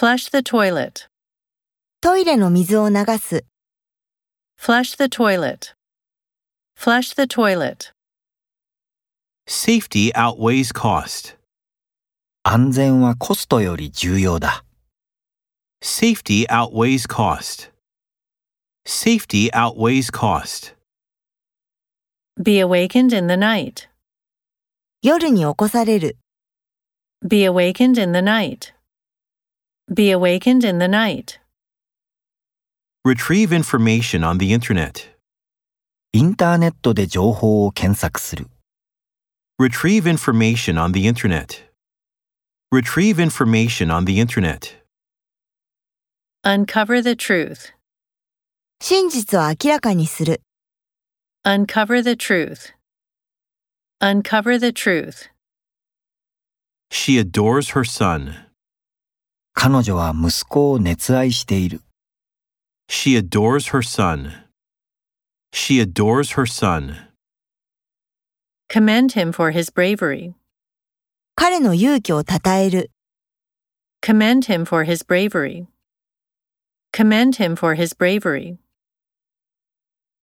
Flush the toilet. トイレの水を流す。 Flush the toilet. Flush the toilet. Safety outweighs cost. 安全はコストより重要だ。 Safety outweighs cost. Safety outweighs cost. Be awakened in the night. 夜に起こされる。 Be awakened in the night. Be awakened in the night. Retrieve information on the internet. インターネットで情報を検索する。 Retrieve information on the internet. Retrieve information on the internet. Uncover the truth. 真実を明らかにする。 Uncover the truth. Uncover the truth. She adores her son. 彼女は息子を熱愛している。 She adores her son. She adores her son. Commend him for his bravery. 彼の勇気を称える。 Commend him for his bravery. Commend him for his bravery.